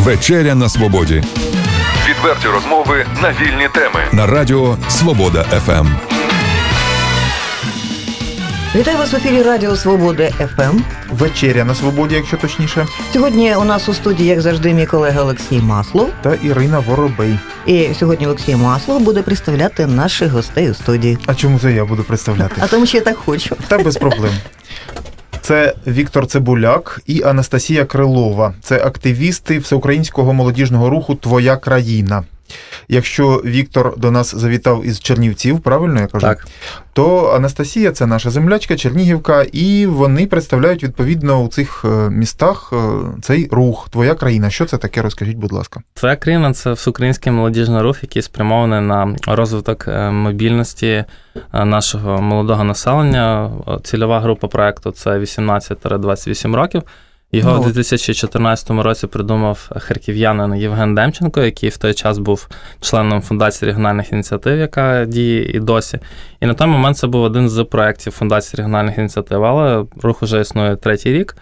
Вечеря на свободі. Відверті розмови на вільні теми. На радіо Свобода ФМ. Вітаю вас в ефірі Радіо Свобода ФМ. Вечеря на свободі, якщо точніше. Сьогодні у нас у студії, як завжди, мій колега Олексій Маслов. Та Ірина Воробей. І сьогодні Олексій Маслов буде представляти наших гостей у студії. А чому це я буду представляти? А тому що я так хочу. Та без проблем. Це Віктор Цибуляк і Анастасія Крилова. Це активісти всеукраїнського молодіжного руху «Твоя країна». Якщо Віктор до нас завітав із Чернівців, правильно я кажу? Так. То Анастасія – це наша землячка, чернігівка, і вони представляють, відповідно, у цих містах цей рух «Твоя країна». Що це таке? Розкажіть, будь ласка. «Твоя країна» – це всеукраїнський молодіжний рух, який спрямований на розвиток мобільності нашого молодого населення. Цільова група проєкту – це 18-28 років. Його у 2014 році придумав харків'янин Євген Демченко, який в той час був членом Фундації регіональних ініціатив, яка діє і досі. І на той момент це був один з проєктів Фундації регіональних ініціатив, але рух вже існує третій рік,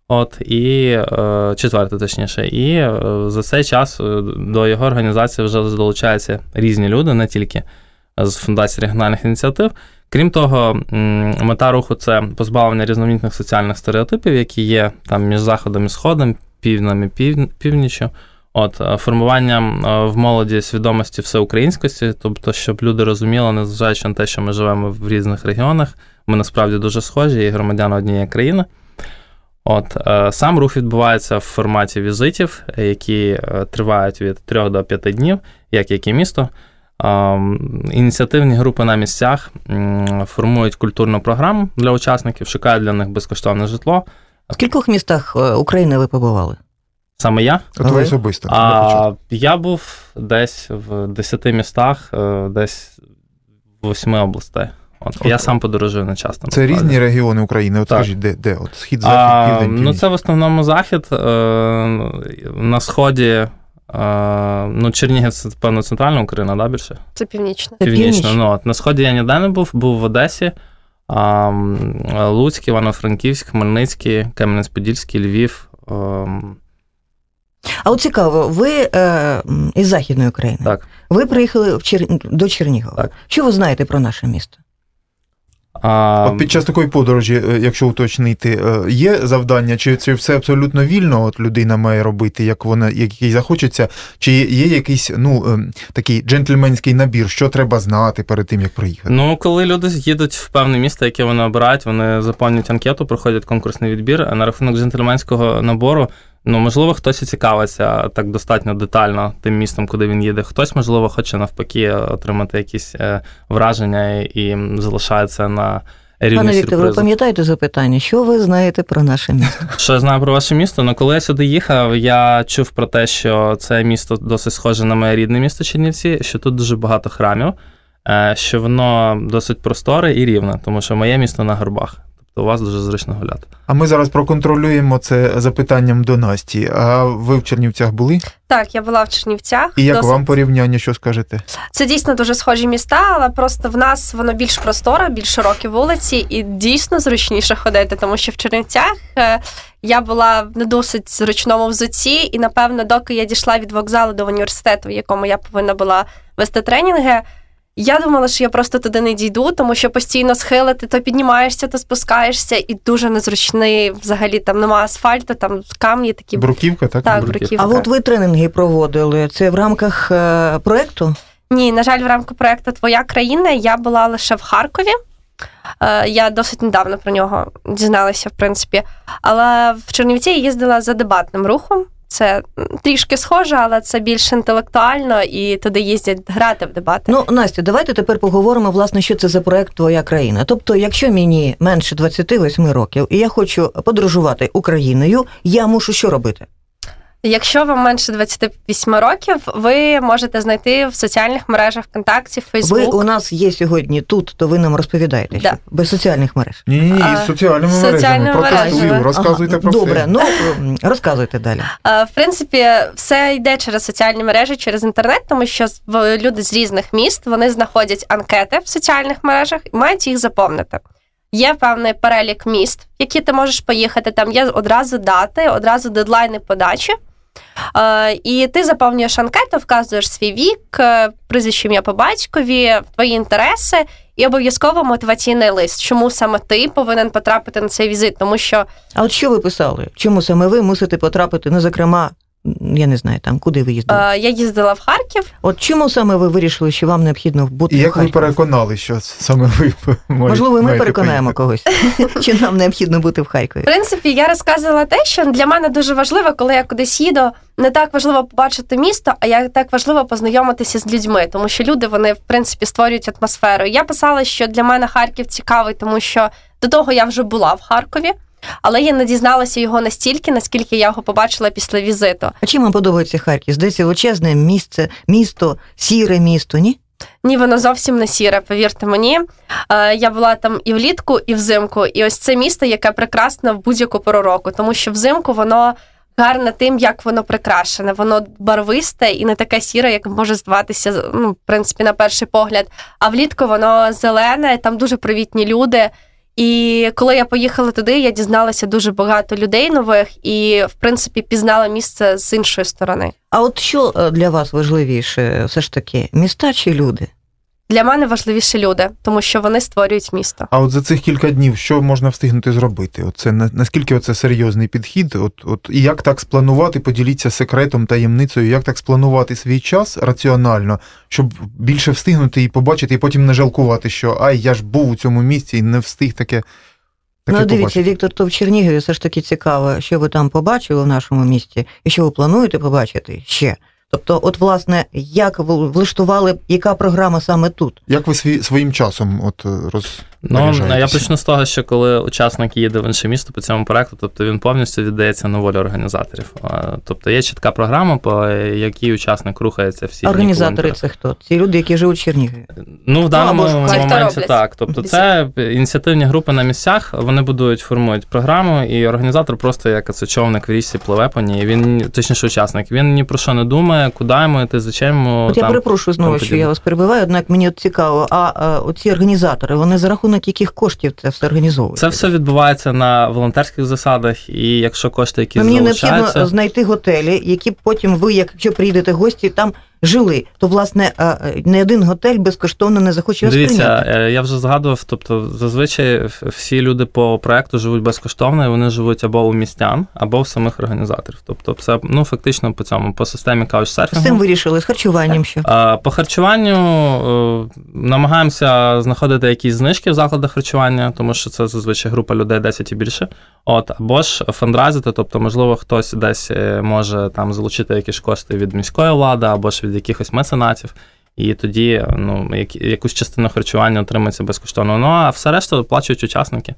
четвертий точніше. І за цей час до його організації вже долучаються різні люди, не тільки з Фундації регіональних ініціатив. Крім того, мета руху – це позбавлення різноманітних соціальних стереотипів, які є там між Заходом і Сходом, Півднем і Північчю. Формування в молоді свідомості всеукраїнськості, тобто, щоб люди розуміли, незважаючи на те, що ми живемо в різних регіонах, ми насправді дуже схожі і громадяни однієї країни. Сам рух відбувається в форматі візитів, які тривають від 3 до 5 днів, як і місто. Ініціативні групи на місцях формують культурну програму для учасників, шукають для них безкоштовне житло. В кількох містах України ви побували? Саме я? Твоє особисто. Я був десь в 10 містах, десь в 8 областей. Я сам подорожую не часто. Це різні регіони України? Скажіть, де? Схід, захід, південь, північ? Це в основному захід. На сході Чернігів – це, певно, центральна Україна, да, більше? Це північна. Північна. На сході я ніде не був в Одесі, Луцьк, Івано-Франківськ, Хмельницький, Кам'янець-Подільський, Львів. А от цікаво, ви із Західної України. Так. Ви приїхали до Чернігова. Так. Що ви знаєте про наше місто? Під час такої подорожі, якщо уточнити, є завдання, чи це все абсолютно вільно людина має робити, як їй захочеться, чи є якийсь такий джентльменський набір, що треба знати перед тим, як приїхати? Коли люди їдуть в певне місто, яке вони обирають, вони заповнюють анкету, проходять конкурсний відбір, а на рахунок джентльменського набору, можливо, хтось і цікавиться так достатньо детально тим містом, куди він їде. Хтось, можливо, хоче навпаки отримати якісь враження і залишається на рівні сюрпризу. Пане Віктор, ви пам'ятаєте запитання? Що ви знаєте про наше місто? Що я знаю про ваше місто? Коли я сюди їхав, я чув про те, що це місто досить схоже на моє рідне місто Чернівці, що тут дуже багато храмів, що воно досить просторе і рівне, тому що моє місто на горбах. У вас дуже зручно гуляти. А ми зараз проконтролюємо це запитанням до Насті. А ви в Чернівцях були? Так, я була в Чернівцях. І як вам порівняння, що скажете? Це дійсно дуже схожі міста, але просто в нас воно більш просторе, більш широкі вулиці і дійсно зручніше ходити, тому що в Чернівцях я була в не досить зручному взутті і, напевно, доки я дійшла від вокзалу до університету, в якому я повинна була вести тренінги, я думала, що я просто туди не дійду, тому що постійно схили, ти то піднімаєшся, то спускаєшся, і дуже незручний, взагалі, там немає асфальту, там камні такі. Бруківка, так? Так, бруківка. А от ви тренінги проводили, це в рамках проєкту? Ні, на жаль, в рамках проєкту «Твоя країна» я була лише в Харкові. Я досить недавно про нього дізналася, в принципі. Але в Чернівці я їздила за дебатним рухом. Це трішки схоже, але це більш інтелектуально, і туди їздять грати в дебати. Настя, давайте тепер поговоримо, власне, що це за проєкт «Твоя країна». Тобто, якщо мені менше 28 років, і я хочу подорожувати Україною, я мушу що робити? Якщо вам менше 28 років, ви можете знайти в соціальних мережах ВКонтакті, Фейсбук. Ви у нас є сьогодні тут, то ви нам розповідаєте, що без соціальних мереж. Ні, з соціальними мережами. Протестую, розказуйте про все. Добре, розказуйте далі. В принципі, все йде через соціальні мережі, через інтернет, тому що люди з різних міст, вони знаходять анкети в соціальних мережах і мають їх заповнити. Є певний перелік міст, в які ти можеш поїхати, там є одразу дати, одразу дедлайни подачі. І ти заповнюєш анкету, вказуєш свій вік, прізвище, ім'я по батькові, твої інтереси і обов'язково мотиваційний лист. Чому саме ти повинен потрапити на цей візит? Тому що... А от що ви писали? Чому саме ви мусите потрапити, ну, зокрема, я не знаю, там, куди ви їздили? Я їздила в Харків. От чому саме ви вирішили, що вам необхідно бути в Харкові? І як ви переконали, що саме ви Можливо, ми переконаємо когось, чи нам необхідно бути в Харкові? В принципі, я розказувала те, що для мене дуже важливо, коли я кудись їду, не так важливо побачити місто, а як так важливо познайомитися з людьми, тому що люди, вони, в принципі, створюють атмосферу. Я писала, що для мене Харків цікавий, тому що до того я вже була в Харкові, але я не дізналася його настільки, наскільки я його побачила після візиту. А чим вам подобається Харків? Здається, величезне місто, сіре місто, ні? Ні, воно зовсім не сіре, повірте мені. Я була там і влітку, і взимку. І ось це місто, яке прекрасне в будь-яку пору року, тому що взимку воно гарне тим, як воно прикрашене. Воно барвисте і не таке сіре, як може здаватися, ну, в принципі, на перший погляд. А влітку воно зелене, там дуже привітні люди. І коли я поїхала туди, я дізналася дуже багато людей нових і, в принципі, пізнала місце з іншої сторони. А от що для вас важливіше все ж таки, міста чи люди? Для мене важливіше люди, тому що вони створюють місто. А от за цих кілька днів що можна встигнути зробити? Оце, наскільки це серйозний підхід? І як так спланувати, поділіться секретом, таємницею, як так спланувати свій час раціонально, щоб більше встигнути і побачити, і потім не жалкувати, що я ж був у цьому місці і не встиг таке дивіться, побачити. Віктор, то в Чернігові все ж таки цікаво, що ви там побачили в нашому місті, і що ви плануєте побачити ще. Тобто, от, власне, як влаштували, яка програма саме тут? Як ви своїм часом розпоряджаєтеся? Я почну з того, що коли учасник їде в інше місто по цьому проекту, тобто він повністю віддається на волю організаторів. Тобто є чітка програма, по якій учасник рухається всі дні. Організатори це хто? Ці люди, які живуть в Чернігові? Ну, в даному моменті так. Тобто це ініціативні групи на місцях, вони формують програму, і організатор просто як човник в річці пливе по ній. Він, точніше, учасник, він ні про що не думає, куди йому йти, зачем йому. От я перепрошую знову, що я вас перебиваю, однак мені от цікаво, оці організатори, вони за рахунок яких коштів це все організовують? Це все відбувається на волонтерських засадах, і якщо кошти, які мені залучаються... Мені необхідно знайти готелі, які потім ви, якщо приїдете гості, там жили, то, власне, не один готель безкоштовно не захоче вас прийняти. Дивіться, я вже згадував, тобто зазвичай всі люди по проекту живуть безкоштовно, і вони живуть або у містян, або в самих організаторів. Тобто це, фактично по системі каучсерфінгу. З цим вирішили, з харчуванням що? По харчуванню намагаємося знаходити якісь знижки в закладах харчування, тому що це зазвичай група людей 10 і більше. Або ж фандрайзити, тобто, можливо, хтось десь може там залучити якісь кошти від міської влади, або ж від якихось меценатів, і тоді якусь частину харчування отримується безкоштовно. А все решта оплачують учасники.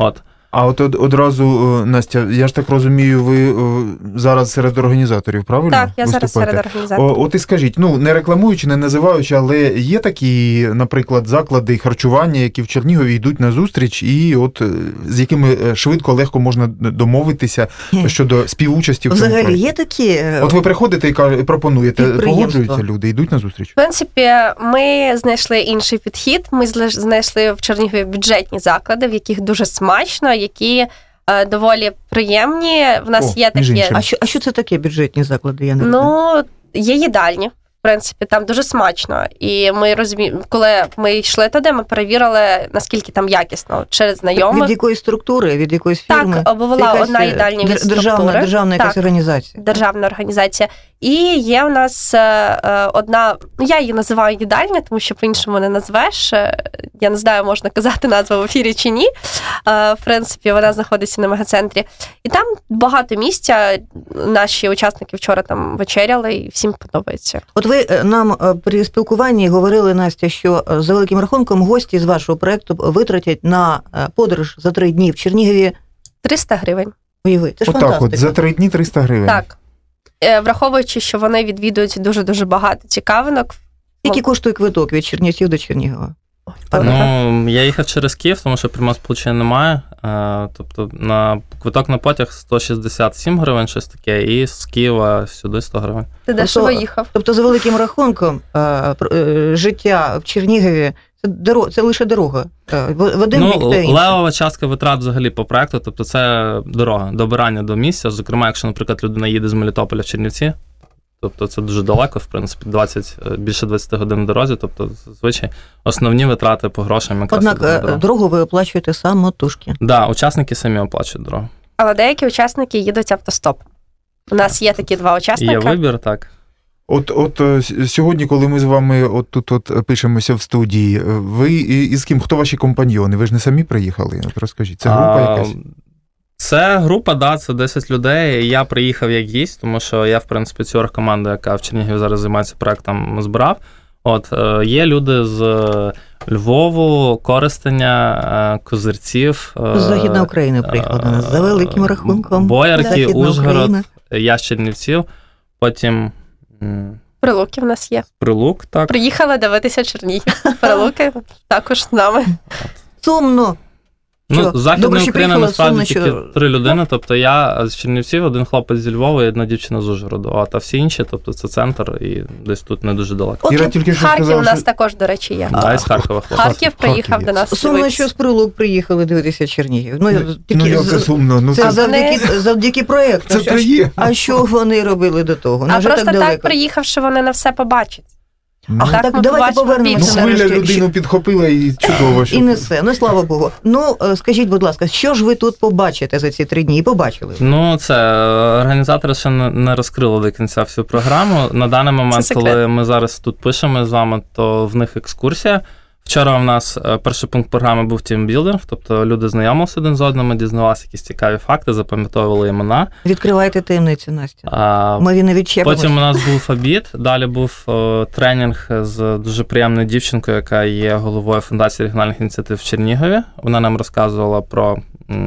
А от одразу, Настя, я ж так розумію, ви зараз серед організаторів, правильно? Так, я зараз серед організаторів. От і скажіть, не рекламуючи, не називаючи, але є такі, наприклад, заклади харчування, які в Чернігові йдуть на зустріч, і от з якими швидко, легко можна домовитися щодо співучасті в цьому проєкті? Взагалі є такі... От ви приходите і пропонуєте, погоджуються люди, йдуть на зустріч? В принципі, ми знайшли інший підхід, ми знайшли в Чернігові бюджетні заклади, в яких дуже смачно, які доволі приємні. В нас є такі... А що це таке бюджетні заклади? Я не розумію. Є їдальні. В принципі, там дуже смачно. І ми коли ми йшли туди, ми перевірили, наскільки там якісно, через знайомих. Від якої структури, від якоїсь фірми? Так, була одна їдальня від структури. Державна якась організація. Державна організація. І є в нас одна, я її називаю їдальня, тому що по-іншому не назвеш. Я не знаю, можна казати назву в ефірі чи ні. В принципі, вона знаходиться на мегацентрі. І там багато місця. Наші учасники вчора там вечеряли, і всім подобається. От ви нам при спілкуванні говорили, Настя, що за великим рахунком гості з вашого проєкту витратять на подорож за 3 дні в Чернігові 300 гривень. Уяви, це ж фантастика. За 3 дні 300 гривень. Так. Враховуючи, що вони відвідують дуже-дуже багато цікавинок. Скільки коштує квиток від Чернівців до Чернігова? Ну, я їхав через Київ, тому що прямого сполучення немає. Тобто квиток на потяг 167 гривень, щось таке, і з Києва сюди 100 гривень. Ти дешево їхав. Тобто, за великим рахунком, життя в Чернігові це лише дорога. В один бік та інший. Левова частка витрат взагалі по проекту, тобто це дорога, добирання до місця. Зокрема, якщо, наприклад, людина їде з Мелітополя в Чернівці, тобто це дуже далеко, в принципі, більше 20 годин в дорозі, тобто, зазвичай, основні витрати по грошам якраз. Однак дорогу ви оплачуєте самотужки. Так, да, учасники самі оплачують дорогу. Але деякі їдуть автостоп. У нас є такі два учасника. Є вибір, так. От сьогодні, коли ми з вами тут пишемося в студії, ви із ким? Хто ваші компаньйони? Ви ж не самі приїхали? От розкажіть, це група якась? Це група, да, це 10 людей. Я приїхав як гість, тому що я, в принципі, цю оргкоманду, яка в Чернігові зараз займається проектом, збирав. Є люди з Львову, Коростеня, Козирців. З Західної України приїхали до нас, за великим рахунком. Боярки, Ужгород, я з Чернівців, потім... Прилуки в нас є. Прилук, так. Приїхали дивитися Чернігів. Прилуки також з нами. Сумно. З Західної України насправді тільки 3 людини, тобто я з Чернівців, один хлопець зі Львова і одна дівчина з Ужгороду, а всі інші, тобто це центр і десь тут не дуже далеко. Харків у нас також, до речі, є. Із Харкова хлопець. Харків приїхав до нас. Сумно, що з Прилук приїхали дивитися Чернігів. Це сумно. Це завдяки проєкту. Це є. А що вони робили до того? А просто так приїхавши, вони не все побачать. Так, давайте повернемося. Хвиля людину підхопила і чудово. І несе, слава Богу. Скажіть, будь ласка, що ж ви тут побачите за ці 3 дні? І побачили? Організатори ще не розкрили до кінця всю програму. На даний момент, коли ми зараз тут пишемо з вами, то в них екскурсія. Вчора у нас перший пункт програми був тімбілдинг, тобто люди знайомилися один з одним, дізнавалися якісь цікаві факти, запам'ятовували імена. Відкривайте таємницю, Настя. Ми не відчепимося. Потім у нас був обід, далі був тренінг з дуже приємною дівчинкою, яка є головою Фундації регіональних ініціатив в Чернігові. Вона нам розказувала про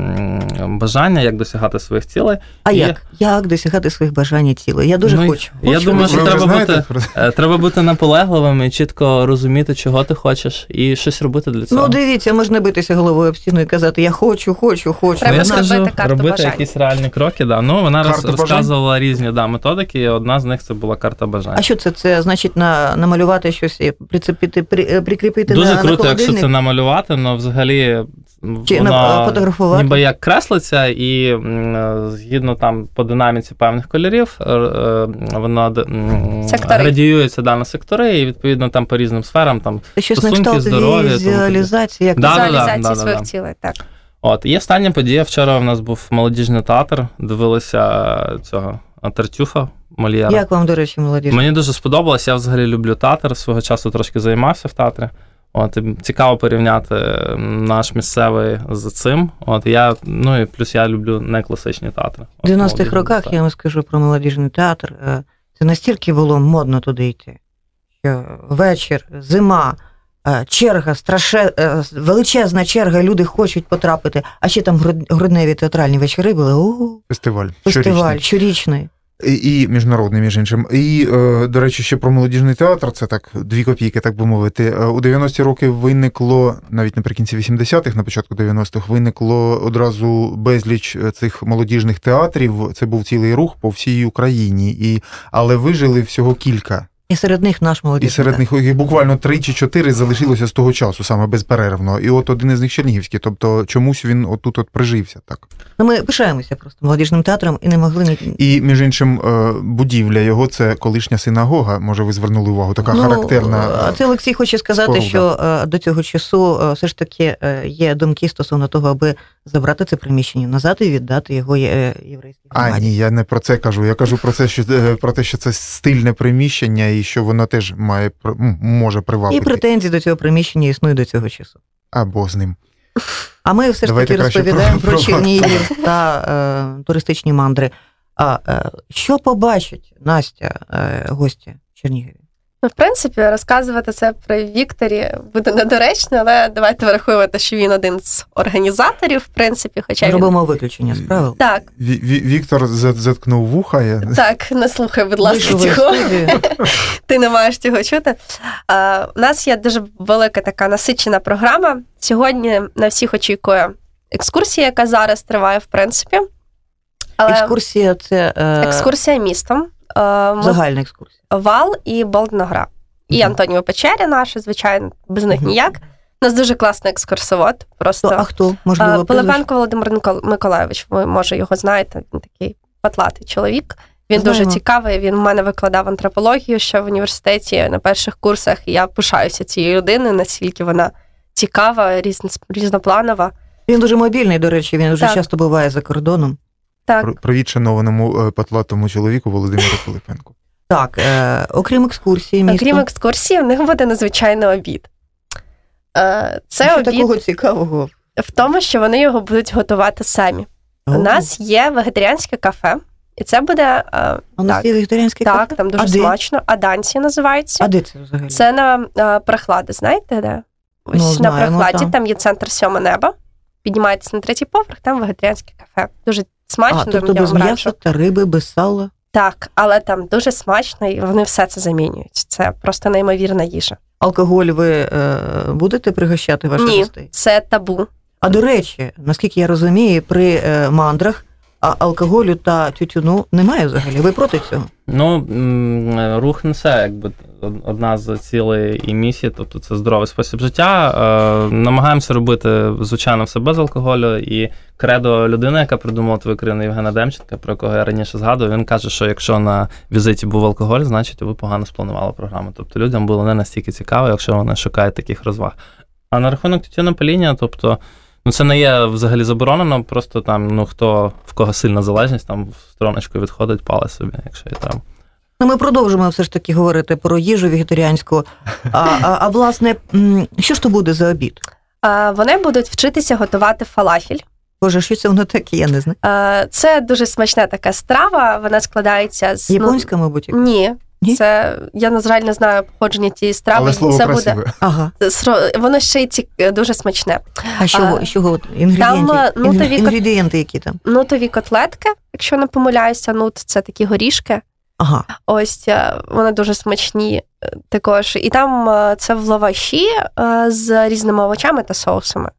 бажання, як досягати своїх цілей. Як досягати своїх бажань і цілей? Я дуже хочу. Я думаю, що треба бути наполегливим і чітко розуміти, чого ти хочеш, і щось робити для цього. Дивіться, можна битися головою об стіну і казати, я хочу. Треба зробити карту робити бажань. якісь реальні кроки, да. Вона розказувала різні методики, і одна з них це була карта бажань. А що це? Це значить намалювати щось і прикріпити дуже на круто, холодильник? якщо це намалювати, але взагалі фотографувати? Ніби як креслиться, і згідно там по динаміці певних кольорів, воно градіюється на сектори, і відповідно там по різним сферам, там стосунки, здоров'я. Візуалізації своїх цілей, так. І остання подія. Вчора у нас був молодіжний театр, дивилися цього Тартюфа, Мольєра. Як вам, до речі, молодіжний? Мені дуже сподобалось, я взагалі люблю театр, свого часу трошки займався в театрі. Цікаво порівняти наш місцевий з цим. І плюс я люблю некласичні театри. В 90-х роках, я вам скажу про молодіжний театр, це настільки було модно туди йти, що вечір, зима, черга, величезна черга, люди хочуть потрапити, а ще там грудневі театральні вечори були. Фестиваль щорічний. І міжнародний, між іншим. І, до речі, ще про молодіжний театр, це так 2 копійки, так би мовити. У 90-ті роки виникло, навіть наприкінці 80-х, на початку 90-х, виникло одразу безліч цих молодіжних театрів. Це був цілий рух по всій Україні. Але вижили всього кілька. І серед них наш молодіжний. І серед них їх буквально 3 чи 4 залишилося з того часу, саме безперервно. І один із них Чернігівський, тобто чомусь він отут прижився, так. Ми пишаємося просто молодіжним театром і не могли... І, між іншим, будівля його – це колишня синагога, може ви звернули увагу, така характерна. Це Олексій хоче сказати, що до цього часу все ж таки є думки стосовно того, аби забрати це приміщення назад і віддати його єврейській громаді. Ні, я не про це кажу. Я кажу про те, що це стильне приміщення і що воно теж може привабити. І претензії до цього приміщення існують до цього часу. Або з ним. А ми все ж таки розповідаємо про Чернігів та туристичні мандри. Що побачить Настя, гості в Чернігові? В принципі, розказувати це при Вікторі буде недоречно, але давайте враховувати, що він один з організаторів, в принципі, хоча робимо виключення з правил. Так. Віктор заткнув вуха. Так, не слухай, будь ласка, цього. Ти не маєш цього чути. У нас є дуже велика така насичена програма. Сьогодні на всіх очікує екскурсія, яка зараз триває, в принципі. Але екскурсія – це... екскурсія містом. Загальна екскурсія. Вал і Болдногра. І Антоніо Печері наші, звичайно, без них ніяк. У нас дуже класний екскурсовод. Просто. А хто? Можливо, Пилипенко Володимир Миколайович, ви, може, його знаєте, він такий патлатий чоловік. Він дуже цікавий, він в мене викладав антропологію ще в університеті на перших курсах, і я пишаюся цією людиною, наскільки вона цікава, різнопланова. Він дуже мобільний, до речі, він дуже часто буває за кордоном. Так. Привіт шанованому патлатому чоловіку Володимиру Пилипенку. Так, окрім екскурсії містом. Окрім екскурсії, в них буде надзвичайний обід. Це обід такого цікавого? В тому, що вони його будуть готувати самі. У нас є вегетаріанське кафе, і це буде... У нас є вегетаріанське кафе? Так, там дуже смачно. Аданці називається. А де це взагалі? Це на Прохлади, знаєте, де? Ось на Прохладі, там є центр «Сьоме небо». Піднімаєтесь на 3-й поверх, там вегетаріанське кафе. Дуже смачно. Тобто без м'яса та риби, без сала? Так, але там дуже смачно, і вони все це замінюють. Це просто неймовірна їжа. Алкоголь ви будете пригощати ваших гостей? Ні, це табу. А до речі, наскільки я розумію, при мандрах алкоголю та тютюну немає взагалі. Ви проти цього? Ну, рух несе, якби, одна з цілей і місій, тобто це здоровий спосіб життя. Намагаємося робити, звичайно, все без алкоголю. І кредо людини, яка придумала твою країну, Євгена Демченка, про якого я раніше згадував, він каже, що якщо на візиті був алкоголь, значить ви погано спланували програму. Тобто людям було не настільки цікаво, якщо вони шукають таких розваг. А на рахунок тютюнопаління, тобто, це не є взагалі заборонено, просто там, хто, в кого сильна залежність, там в стороночку відходить, палить собі, якщо і там. Ми продовжимо все ж таки говорити про їжу вегетаріанську. А власне, що ж то буде за обід? Вони будуть вчитися готувати фалафель. Боже, що це воно таке, я не знаю. Це дуже смачна така страва, вона складається з... Японська, мабуть? Ні. Це, я, на жаль, не знаю походження тієї страви. Але слово це красиве. Буде... Ага. Воно ще й дуже смачне. А що інгредієнти які там? Нутові котлетки, якщо не помиляюся, нут – це такі горішки. Ага. Ось, вони дуже смачні також. І там це в лаваші з різними овочами та соусами.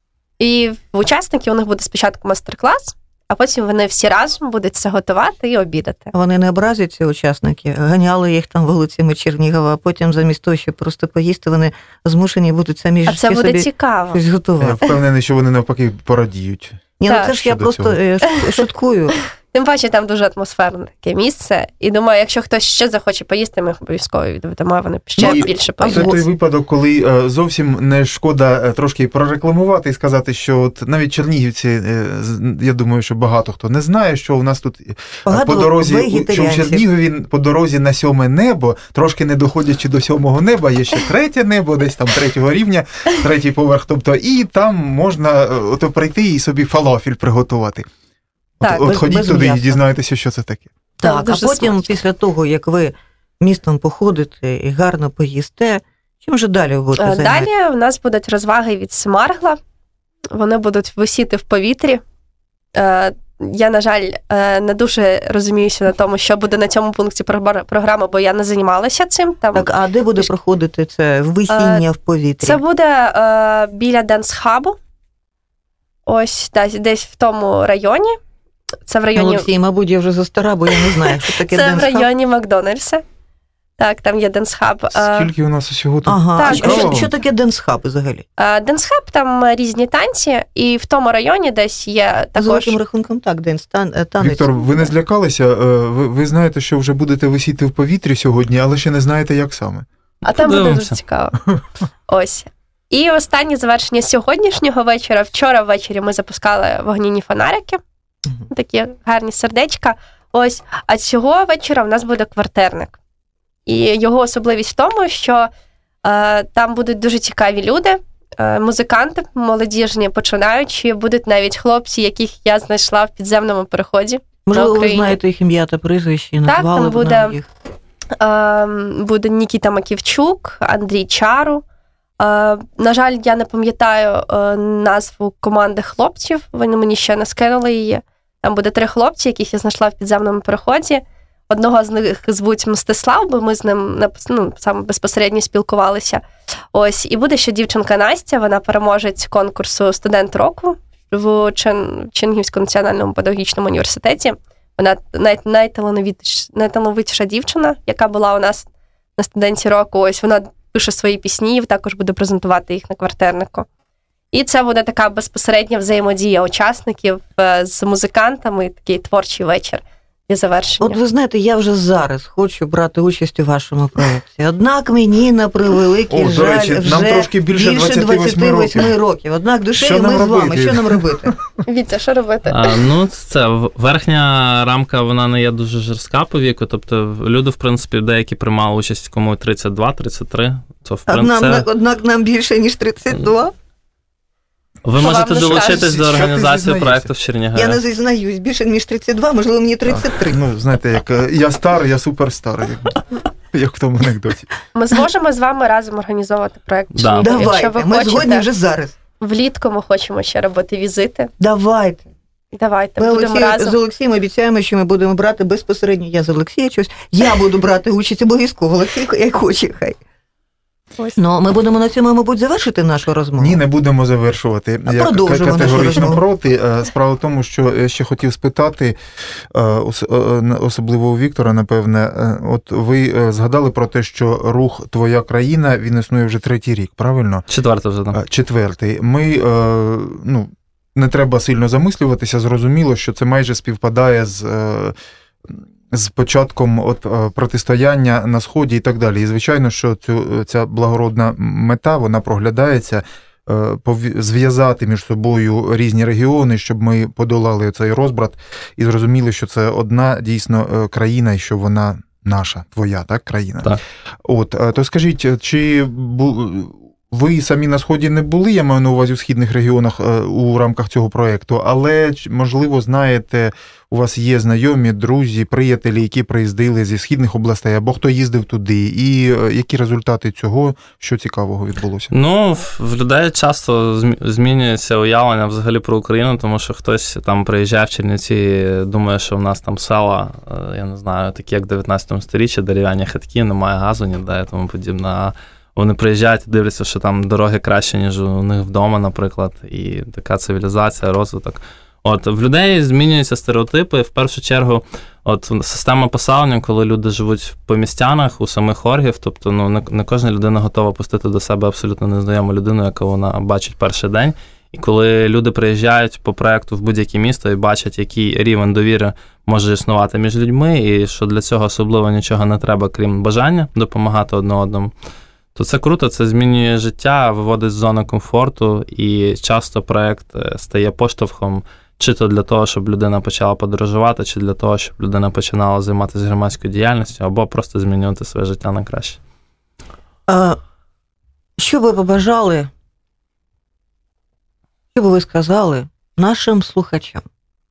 І в учасників у них буде спочатку мастер-клас, а потім вони всі разом будуть це готувати і обідати. Вони не образяться, учасники? Ганяли їх там вулицями Чернігова, а потім замість того, щоб просто поїсти, вони змушені будуть самі собі щось готувати. А це буде цікаво. Я впевнений, що вони навпаки порадіють. Ні, це ж я просто шуткую. Тим паче, там дуже атмосферне таке місце. І думаю, якщо хтось ще захоче поїсти, ми обов'язково відведемо, вони ще більше поїдуть. Це той випадок, коли зовсім не шкода трошки прорекламувати і сказати, що от навіть чернігівці, я думаю, що багато хто не знає, що у нас тут по дорозі, що в Чернігові по дорозі на 7 небо, трошки не доходячи до 7-го неба, є ще 3 небо, десь там 3-го рівня, 3-й поверх, тобто і там можна прийти і собі фалафель приготувати. От ходіть туди і дізнаєтеся, що це таке. Так, а потім, смачно. Після того, як ви містом походите і гарно поїсте, чим же далі ви будете займатися? Далі у нас будуть розваги від Смаргла. Вони будуть висіти в повітрі. Я, на жаль, не дуже розуміюся на тому, що буде на цьому пункті програми, бо я не займалася цим. Там... Так, а де буде проходити це висіння в повітрі? Це буде біля Денс-хабу. Ось десь в тому районі. Це в районі... Олексій, мабуть, я вже застара, бо я не знаю, що таке Денс-хаб. Це в районі Макдональдса. Так, там є Денс-хаб. Скільки у нас усього тут? Ага, так, що таке Денс-хаб взагалі? Денс-хаб, там різні танці, і в тому районі десь є також... За великим рахунком так, танець. Віктор, ви не злякалися? Ви знаєте, що вже будете висіти в повітрі сьогодні, але ще не знаєте, як саме. А там буде дуже цікаво. Ось. І останнє завершення сьогоднішнього вечора. Вчора ввечері ми запускали вогняні фонарики. Такі гарні сердечка. Ось. А цього вечора в нас буде квартирник. І його особливість в тому, що там будуть дуже цікаві люди, музиканти молодіжні, починаючі, будуть навіть хлопці, яких я знайшла в підземному переході. Можливо, ви знаєте їх ім'я та прізвище, і назвали б нам їх. буде Нікіта Маківчук, Андрій Чару. На жаль, я не пам'ятаю назву команди хлопців, вони мені ще не скинули її. Там буде 3 хлопці, яких я знайшла в підземному переході. Одного з них звуть Мстислав, бо ми з ним саме безпосередньо спілкувалися. Ось, і буде ще дівчинка Настя, вона переможець конкурсу «Студент року» в Чернігівському національному педагогічному університеті. Вона найталановитіша дівчина, яка була у нас на студенті року. Ось вона пише свої пісні, також буде презентувати їх на квартирнику. І це буде така безпосередня взаємодія учасників з музикантами, такий творчий вечір і завершення. От ви знаєте, я вже зараз хочу брати участь у вашому проєкті. Однак мені, на превеликий жаль, речі, вже нам трошки більше 28 років. Однак душею ми з вами. Що нам робити? Вітя, що робити? Це верхня рамка, вона не є дуже жорстка по віку. Тобто люди, в принципі, деякі приймали участь, кому 32, 33. Однак нам більше, ніж 32. Ви можете долучитись до організації проєкту в Чернігові. Я не зізнаюсь, більше ніж 32, можливо, мені 33. Ну, знаєте, як я старий, я суперстар, як в тому анекдоті. Ми зможемо з вами разом організовувати проєкт. Да. Давайте, ми згодні вже зараз. Влітку ми хочемо ще робити візити. Давайте, будемо разом. З Олексієм обіцяємо, що ми будемо брати безпосередньо, я з Олексієм щось, я буду брати участь обов'язково, Олексій, як хоче, хай. Ну, ми будемо на цьому, мабуть, завершити нашу розмову. Ні, не будемо завершувати. Я категорично проти. Справа в тому, що я ще хотів спитати, особливо у Віктора, напевне, от ви згадали про те, що рух «Твоя країна», він існує вже 3-й рік, правильно? 4-й вже, так. 4-й. Ми, не треба сильно замислюватися, зрозуміло, що це майже співпадає з початком протистояння на Сході і так далі. І, звичайно, що ця благородна мета, вона проглядається, зв'язати між собою різні регіони, щоб ми подолали цей розбрат і зрозуміли, що це одна дійсно країна і що вона наша, твоя, так, країна. Так. То скажіть, чи ви самі на Сході не були, я маю на увазі, у східних регіонах у рамках цього проєкту, але, можливо, знаєте, у вас є знайомі, друзі, приятелі, які приїздили зі східних областей, або хто їздив туди, і які результати цього, що цікавого відбулося? Ну, в людей часто змінюється уявлення взагалі про Україну, тому що хтось там приїжджає в Чернівці, думає, що в нас там села, я не знаю, такі як в 19 сторіччі, дерев'яні хатки, немає газу ніде і тому подібне. Вони приїжджають і дивляться, що там дороги краще, ніж у них вдома, наприклад, і така цивілізація, розвиток. В людей змінюються стереотипи. В першу чергу, система поселення, коли люди живуть по містянах, у самих оргів, тобто не кожна людина готова пустити до себе абсолютно незнайому людину, яку вона бачить перший день. І коли люди приїжджають по проєкту в будь-яке місто і бачать, який рівень довіри може існувати між людьми, і що для цього особливо нічого не треба, крім бажання допомагати одне одному, то це круто, це змінює життя, виводить з зони комфорту, і часто проєкт стає поштовхом чи то для того, щоб людина почала подорожувати, чи для того, щоб людина починала займатися громадською діяльністю, або просто змінювати своє життя на краще. Що ви побажали, що би ви сказали нашим слухачам?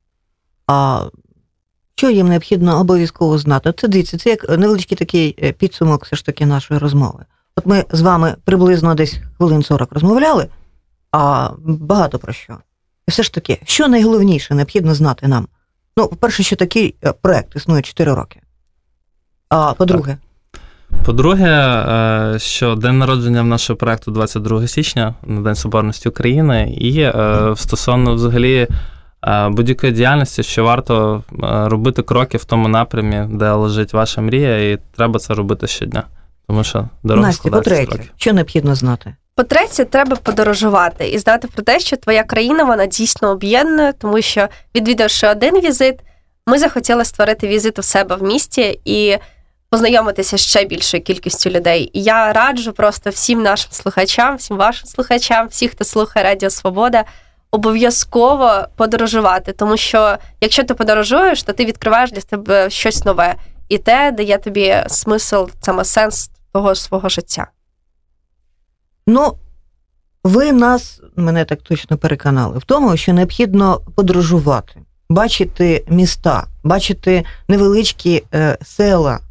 Що їм необхідно обов'язково знати? Це дивіться, це як невеличкий такий підсумок все ж таки нашої розмови. От ми з вами приблизно десь хвилин 40 розмовляли, а багато про що. І все ж таки, що найголовніше необхідно знати нам? Ну, по-перше, що такий проєкт існує 4 роки. А по-друге? По-друге, що день народження в нашого проєкту 22 січня, на День Соборності України, і стосовно взагалі будь-якої діяльності, що варто робити кроки в тому напрямі, де лежить ваша мрія, і треба це робити щодня. Тому що дорога складається з кроків. По-третє, що необхідно знати? По-третє, треба подорожувати і знати про те, що твоя країна, вона дійсно об'єднує, тому що, відвідавши один візит, ми захотіли створити візит у себе в місті і познайомитися з ще більшою кількістю людей. І я раджу просто всім нашим слухачам, всім вашим слухачам, всіх, хто слухає Радіо Свобода, обов'язково подорожувати, тому що якщо ти подорожуєш, то ти відкриваєш для себе щось нове. І те дає тобі смисл, саме сенс того свого життя. Ну, ви мене так точно переконали в тому, що необхідно подорожувати, бачити міста, бачити невеличкі села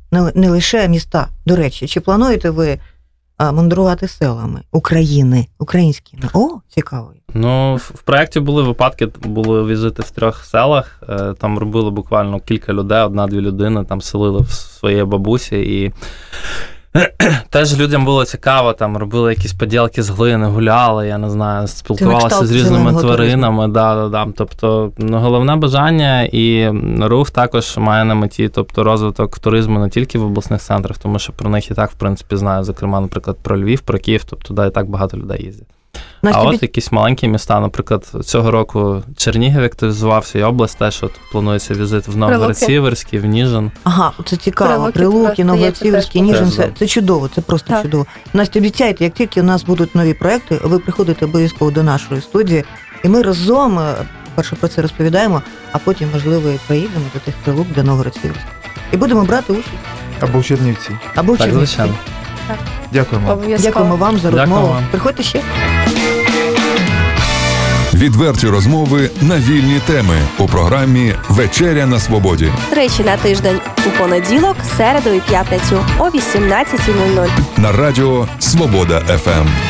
не лише міста. До речі, чи плануєте ви мандрувати селами України, українськими? О, цікаво. Ну, в проєкті були випадки, були візити в 3 селах, там робили буквально кілька людей, 1-2 людини, там селили в своїй бабусі, і теж людям було цікаво, там робили якісь поділки з глини, гуляли, я не знаю, спілкувалися з різними тваринами. Да. Тобто, головне бажання і рух також має на меті, тобто розвиток туризму не тільки в обласних центрах, тому що про них і так, в принципі, знаю, зокрема, наприклад, про Львів, про Київ, тобто туди і так багато людей їздять. А от якісь маленькі міста, наприклад, цього року Чернігів активізувався, і область теж планується візит в Новгород-Сіверський, в Ніжин. Ага, це цікаво. Прилуки, Новгород-Сіверський, Ніжин, це чудово, це просто чудово. Настя, обіцяйте, як тільки у нас будуть нові проекти, ви приходите обов'язково до нашої студії, і ми разом, перше про це розповідаємо, а потім, можливо, і приїдемо до тих Прилук, до Новгород-Сіверський. І будемо брати участь. Або в Чернівці. Так, звичайно. Дякуємо. Дякуємо вам за розмову. Приходьте ще. Відверті розмови на вільні теми у програмі «Вечеря на свободі». 3 на тиждень у понеділок, середу і п'ятницю о 18:00. На радіо «Свобода ФМ».